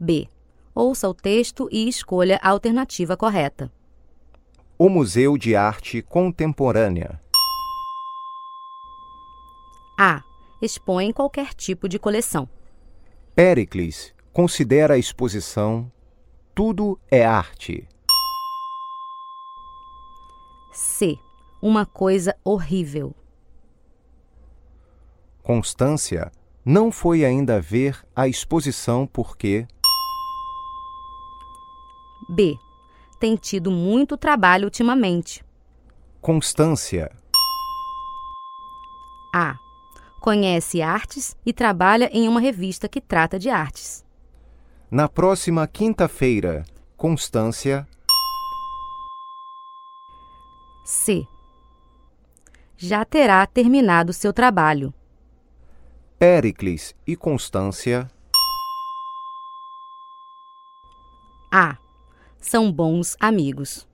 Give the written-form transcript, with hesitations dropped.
B. Ouça o texto e escolha a alternativa correta. O Museu de Arte Contemporânea. A. Expõe qualquer tipo de coleção. Péricles considera a exposição Tudo é Arte. C. Uma coisa horrível. Constância não foi ainda ver a exposição porque B. Tem tido muito trabalho ultimamente. Constância. A. Conhece artes e trabalha em uma revista que trata de artes. Na próxima quinta-feira, Constância. C. Já terá terminado seu trabalho. Péricles e Constância. A. São bons amigos.